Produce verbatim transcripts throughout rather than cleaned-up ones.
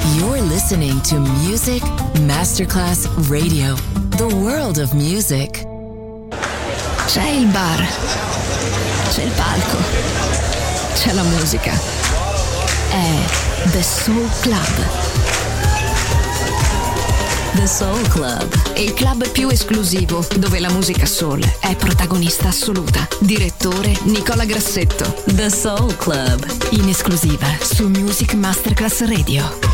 You're listening to Music Masterclass Radio, the world of music. C'è il bar, c'è il palco, c'è la musica. È The Soul Club. The Soul Club, il club più esclusivo dove la musica soul è protagonista assoluta. Direttore Nicola Grassetto. The Soul Club, In esclusiva su Music Masterclass Radio.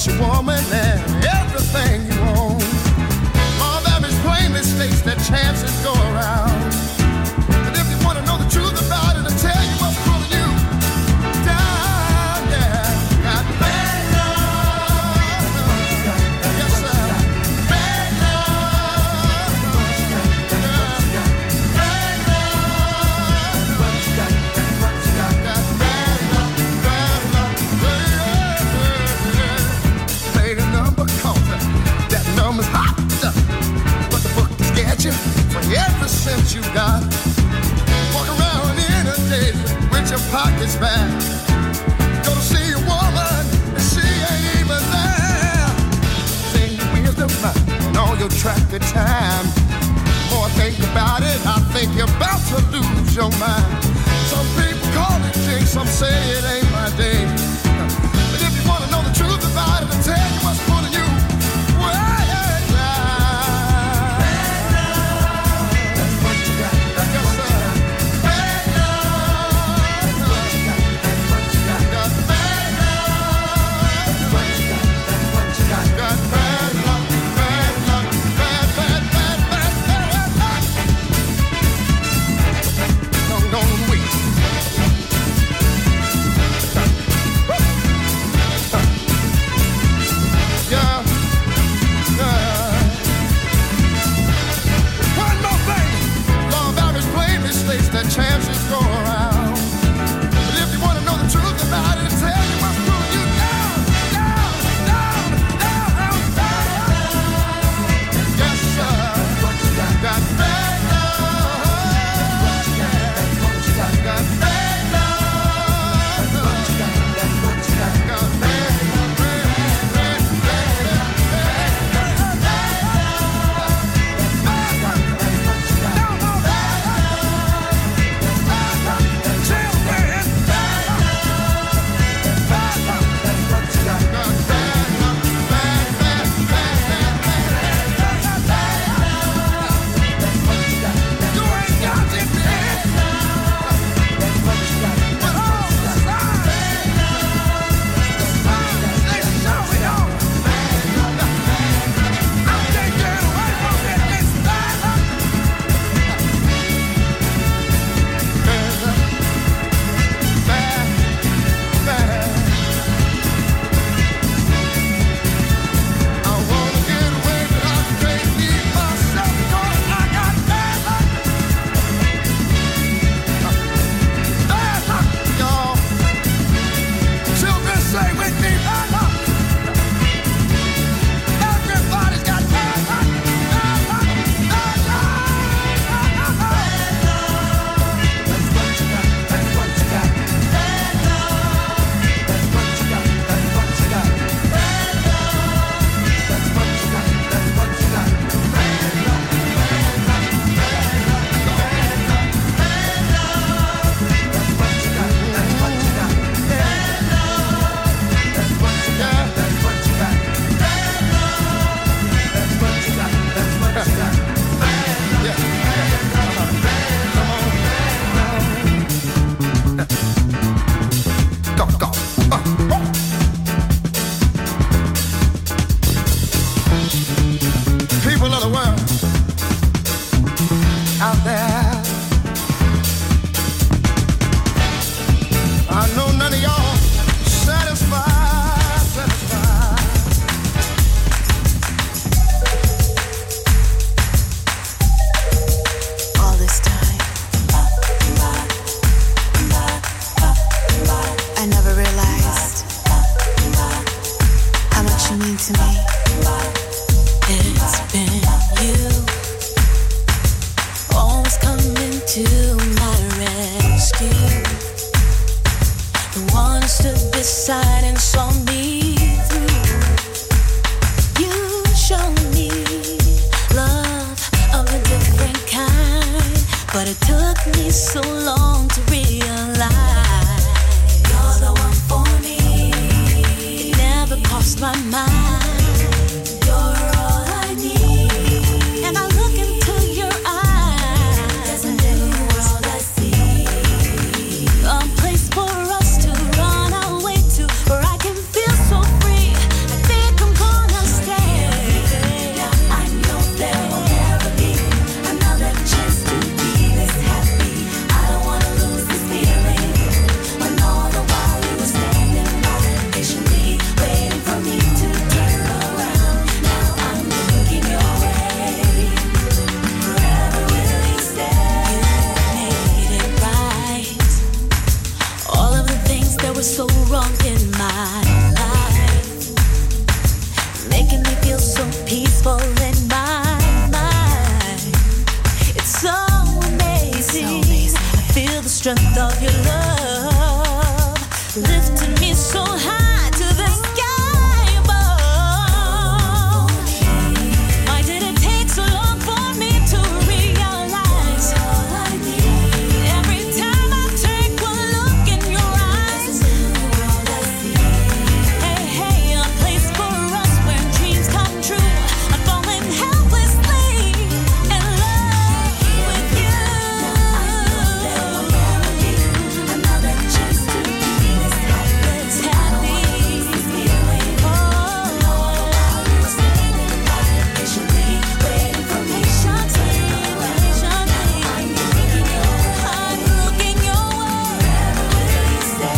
cost you woman and everything you own. Law of average plainly states that chances go around. But if you want to know the truth about it, I'll tell you what's pulling you down, yeah. Got bad love. Yes, sir. Bad love. Yeah. Bad love. Got bad love, bad love. Play the number counter. That number's hot. But the book is get you for every cent you got. Walk around in a day with your pockets back. Go to see a woman and she ain't even there. Sing the wisdom and all your traffic time. More I think about it, I think you're about to lose your mind. Some people call it jinx, some say it ain't my day. But if you want to know the truth about it, I'll tell you what's pulling you way down. That's what you got. Yes, sir. Bad love. That's what you got. That's what you got. Got bad love. That's what you got. That's what you got. Got bad luck. Bad luck. Bad, bad, bad, bad, bad luck. Don't, don't wait. Yeah. Yeah. One more thing. Law of average plainly states that chances go around. But if you want to know the truth about it, tell you what's pulling you down, down, down, down, down. Yes, sir. Got bad love. Got bad love. Got bad love. People of the world out there, I know none of y'all satisfied, satisfied. All this time, I never realized how much you mean to me. It's been you, always coming to my rescue. The one who stood beside and saw me through. You showed me love of a different kind, but it took me so long to realize you're the one for me. It never crossed my mind. I feel was so wrong in my life, making me feel so peaceful in my mind. It's so amazing, so amazing. I feel the strength of your love, lifting me so high to the sky above. Why did it take so long for me to realize? Every time I take one look in your eyes, hey, hey, a place for us where dreams come true. I'm falling helplessly in love with you. Another chance to be this helpless, happy. Oh, standing by patiently, waiting for me. Patiently, patiently. I'm looking your way. I'm looking your way. Wherever will you stay?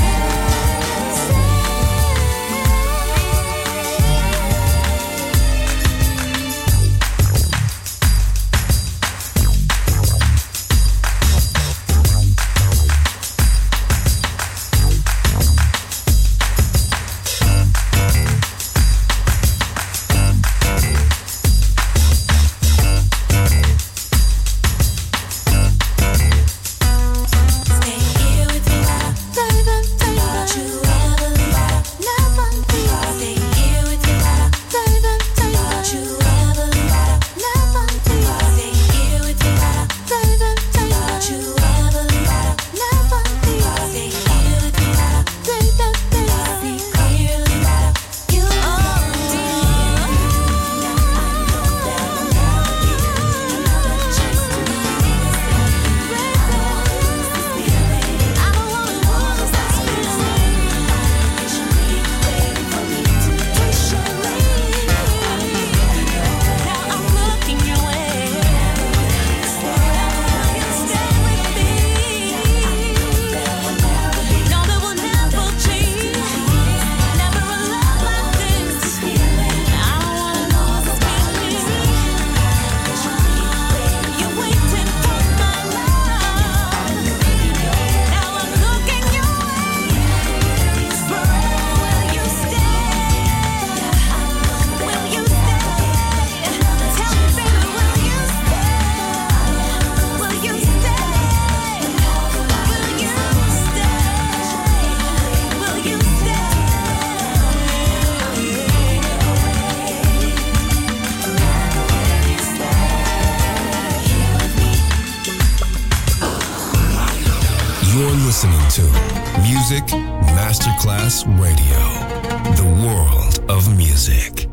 Stay here with me, baby, baby. Don't you ever leave, never leave. Stay here with me, baby, baby. Don't you ever leave, never leave. Stay here with me, baby, baby. Don't you ever leave, never leave. Stay here with me, baby, baby. See clearly, you are dear. I know that I love you. Another chance to be this feeling. I don't wanna lose this feeling. Patiently waiting for me to patiently. Now I'm looking your way. Forever will you stay with me? No, that will never change. Never a love like this. I don't wanna lose this feeling. You're waiting for my love. Now I'm looking your way. Forever will you stay? Will you stay? Tell me, baby, will you stay? Will you stay? Will you stay? Will you You're listening to Music Masterclass Radio, the world of music.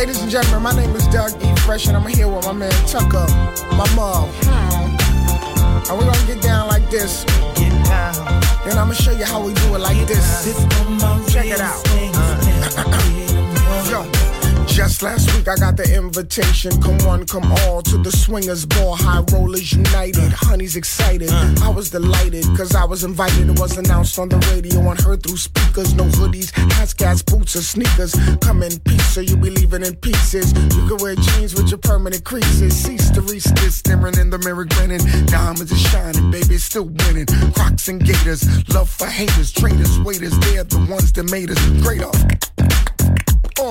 Ladies and gentlemen, my name is Doug E. Fresh, and I'm here with my man Tucker, my mom. Hmm. And we're gonna get down like this. Get down. And I'm gonna show you how we do it like get this. Check it out. Uh. Yo. Just last week I got the invitation. Come one, come all to the Swingers Ball. High Rollers United. Honey's excited. I was delighted cause I was invited. It was announced on the radio and heard through speakers. No hoodies, hats, gas, boots, or sneakers. Come in peace so you be leaving in pieces. You can wear jeans with your permanent creases. Cease to resist, staring in the mirror grinning. Diamonds are shining, baby, it's still winning. Crocs and gators, love for haters. Traitors, waiters, they're the ones that made us great off. Uh.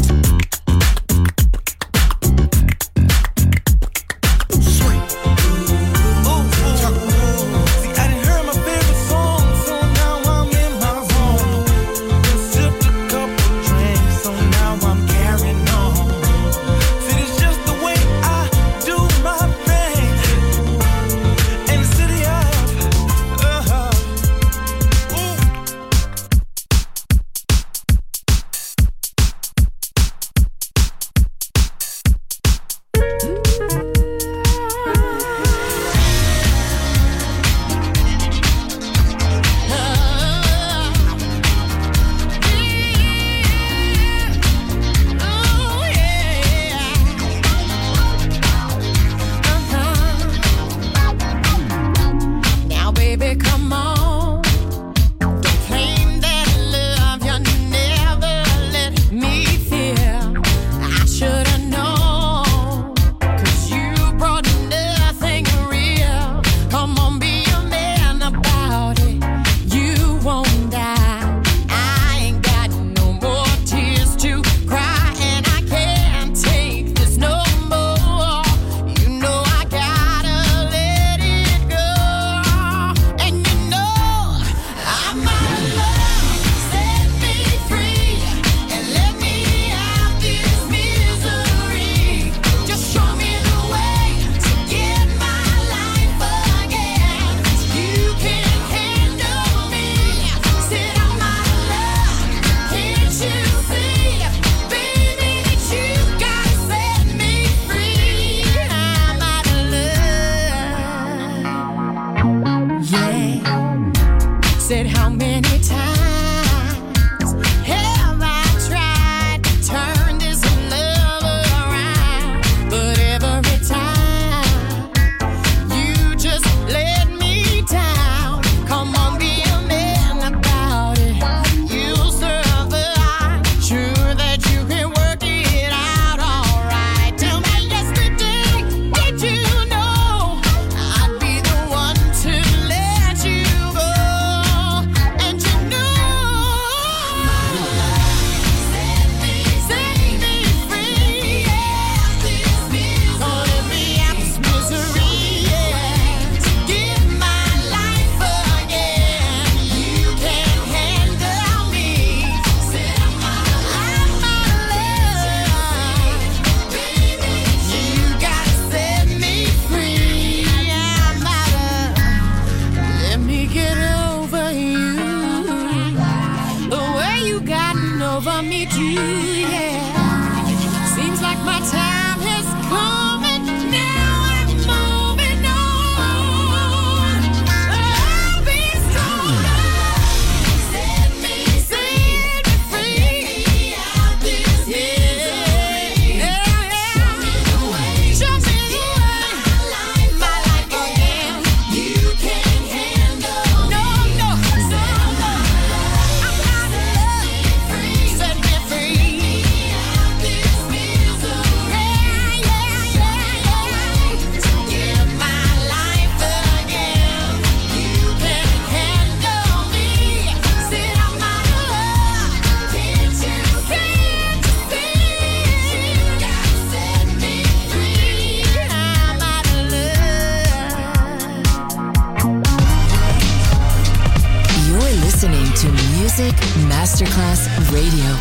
Masterclass Radio.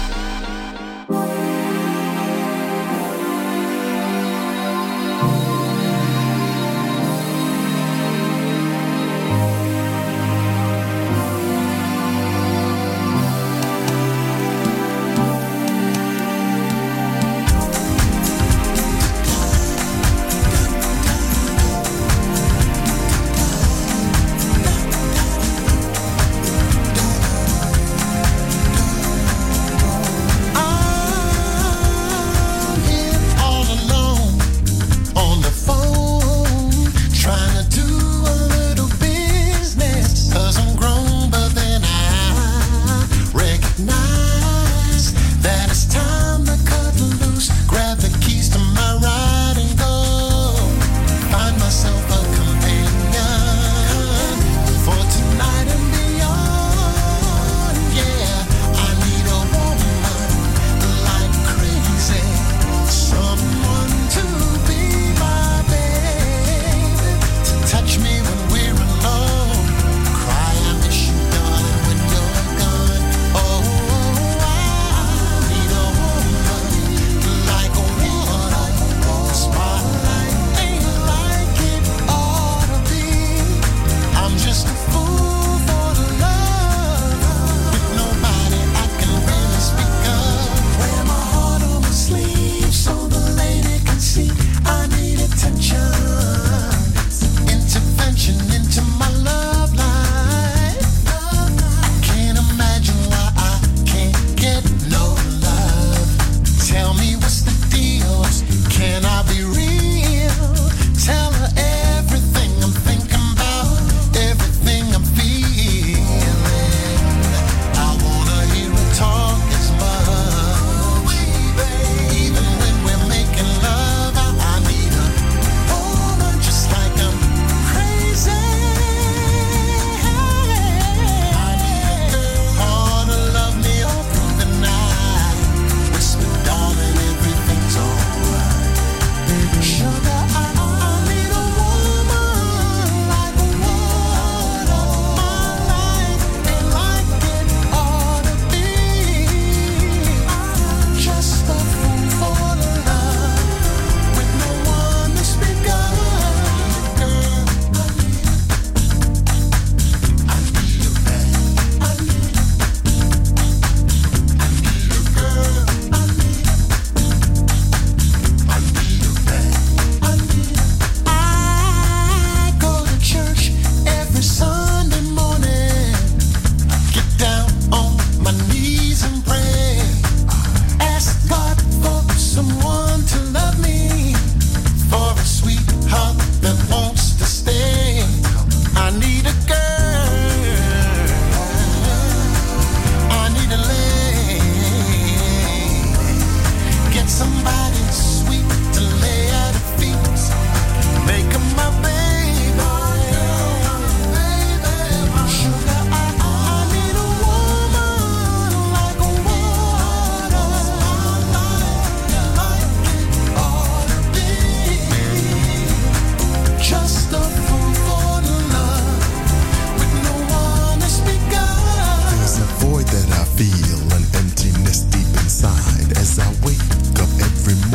somebody sweet to lay at her feet. Make her my baby, baby, sugar. I, I need a woman like a water, like it ought to be. Just a fool for love with no one to speak of. There's a void that I feel, an emptiness deep inside as I wake up every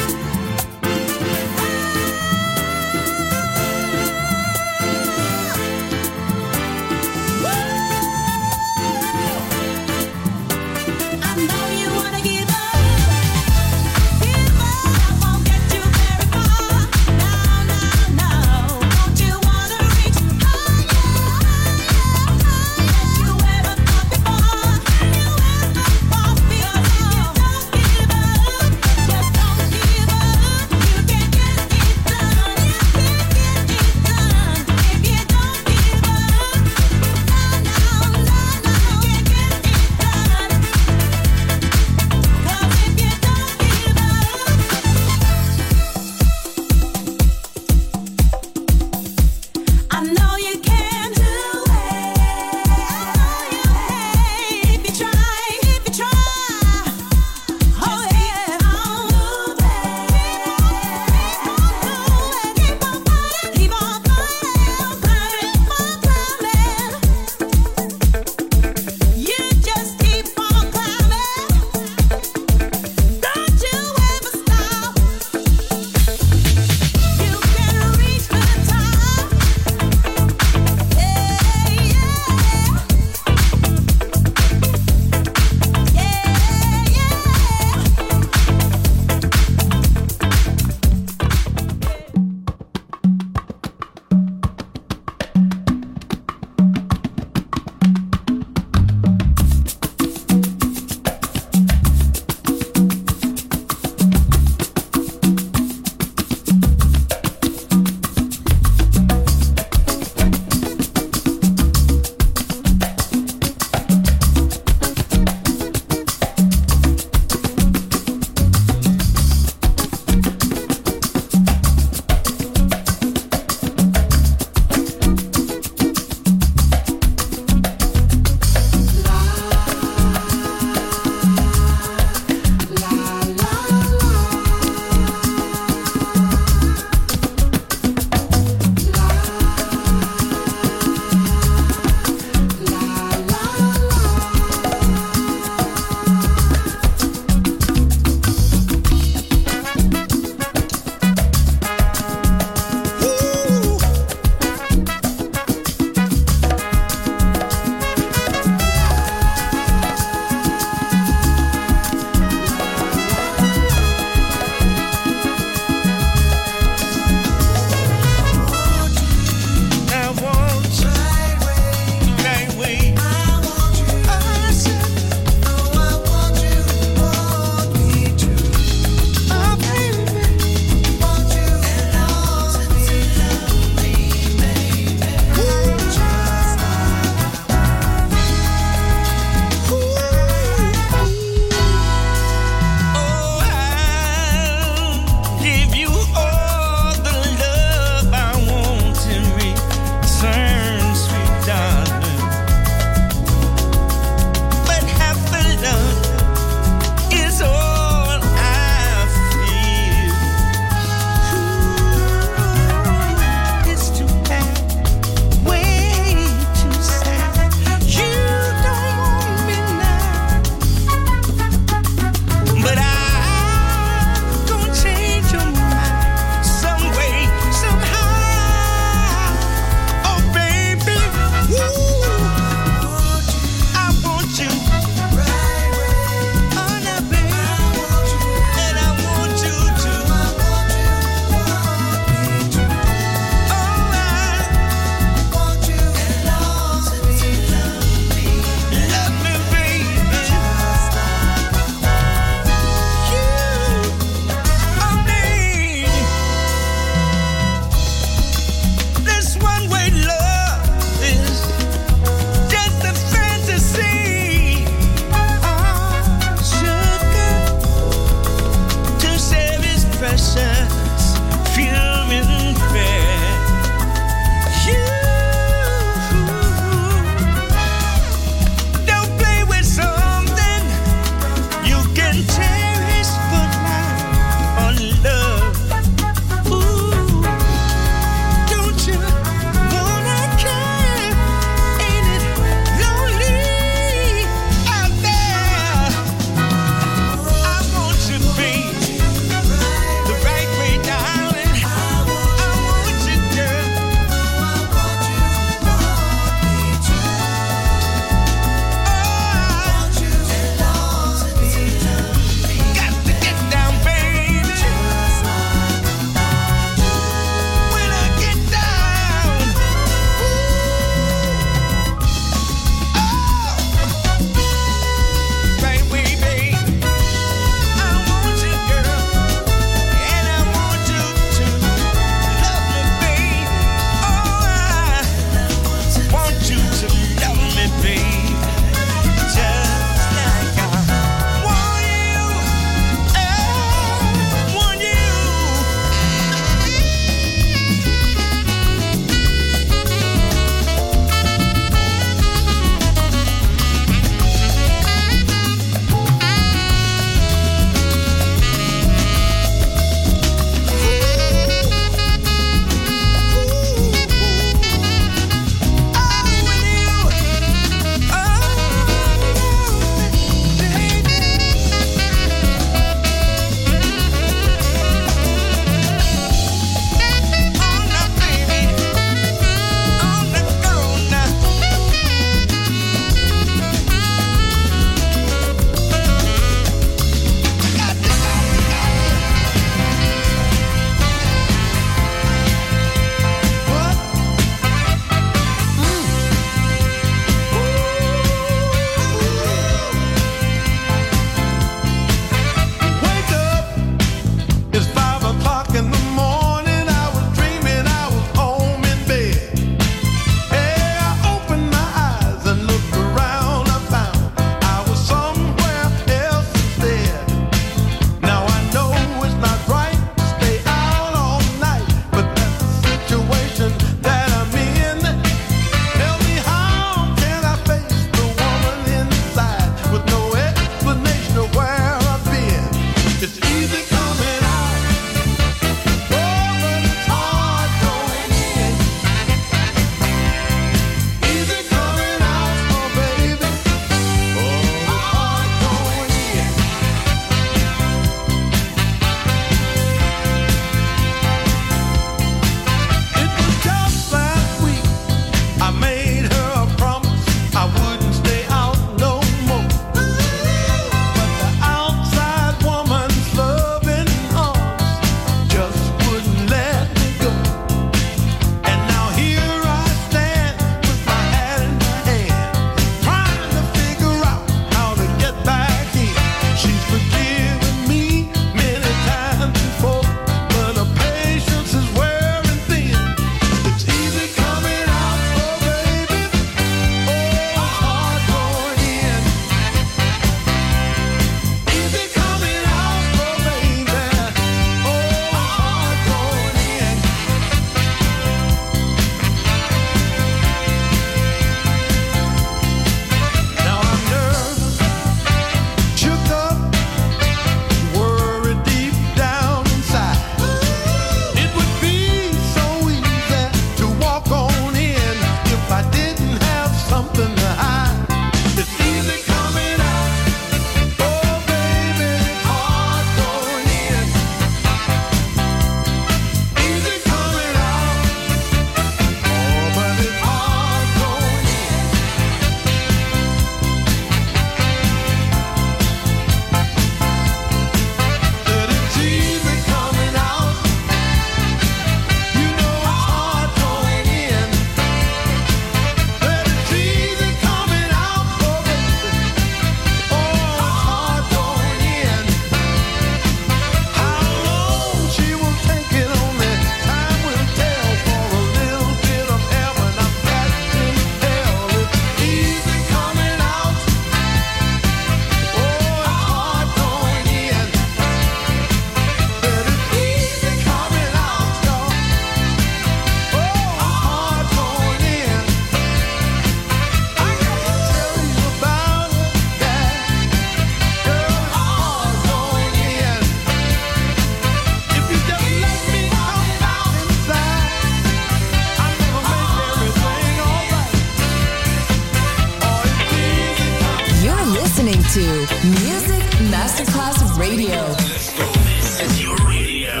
Radio. Let's go. This is your radio.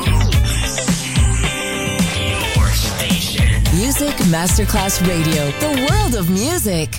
Your station. Music Masterclass Radio. The world of music.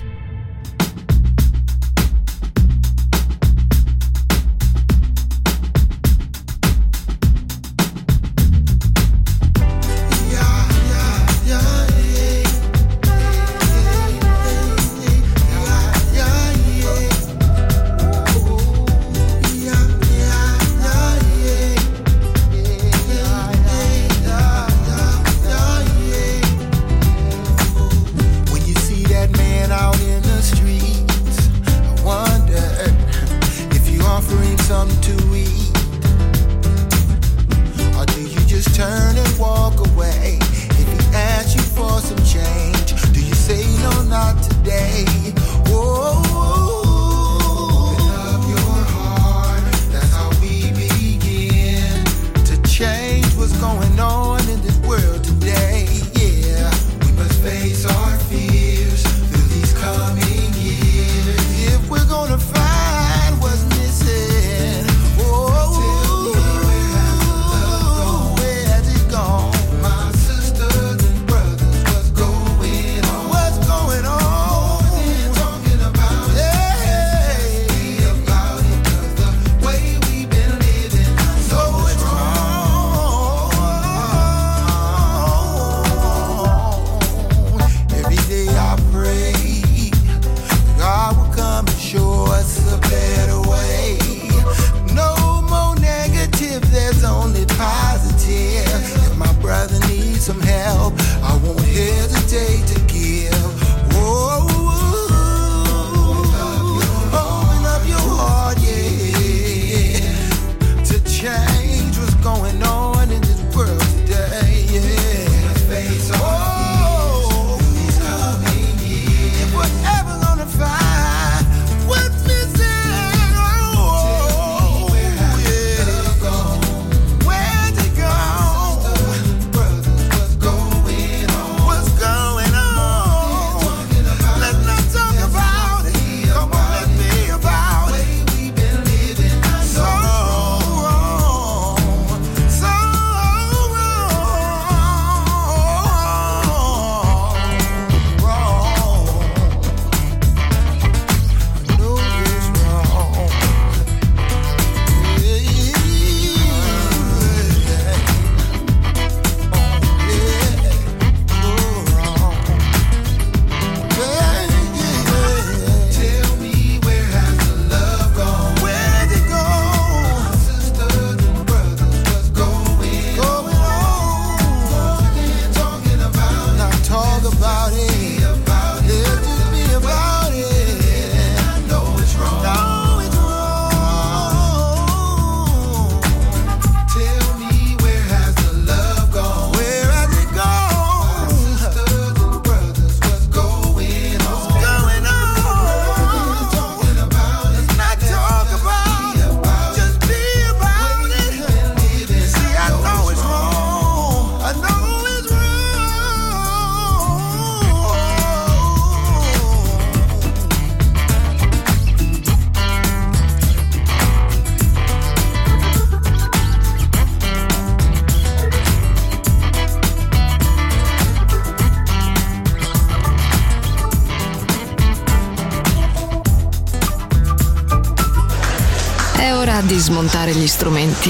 Di smontare gli strumenti,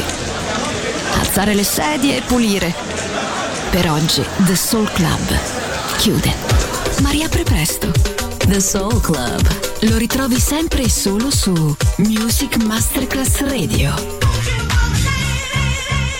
alzare le sedie e pulire. Per oggi The Soul Club chiude, ma riapre presto. The Soul Club lo ritrovi sempre e solo su Music Masterclass Radio.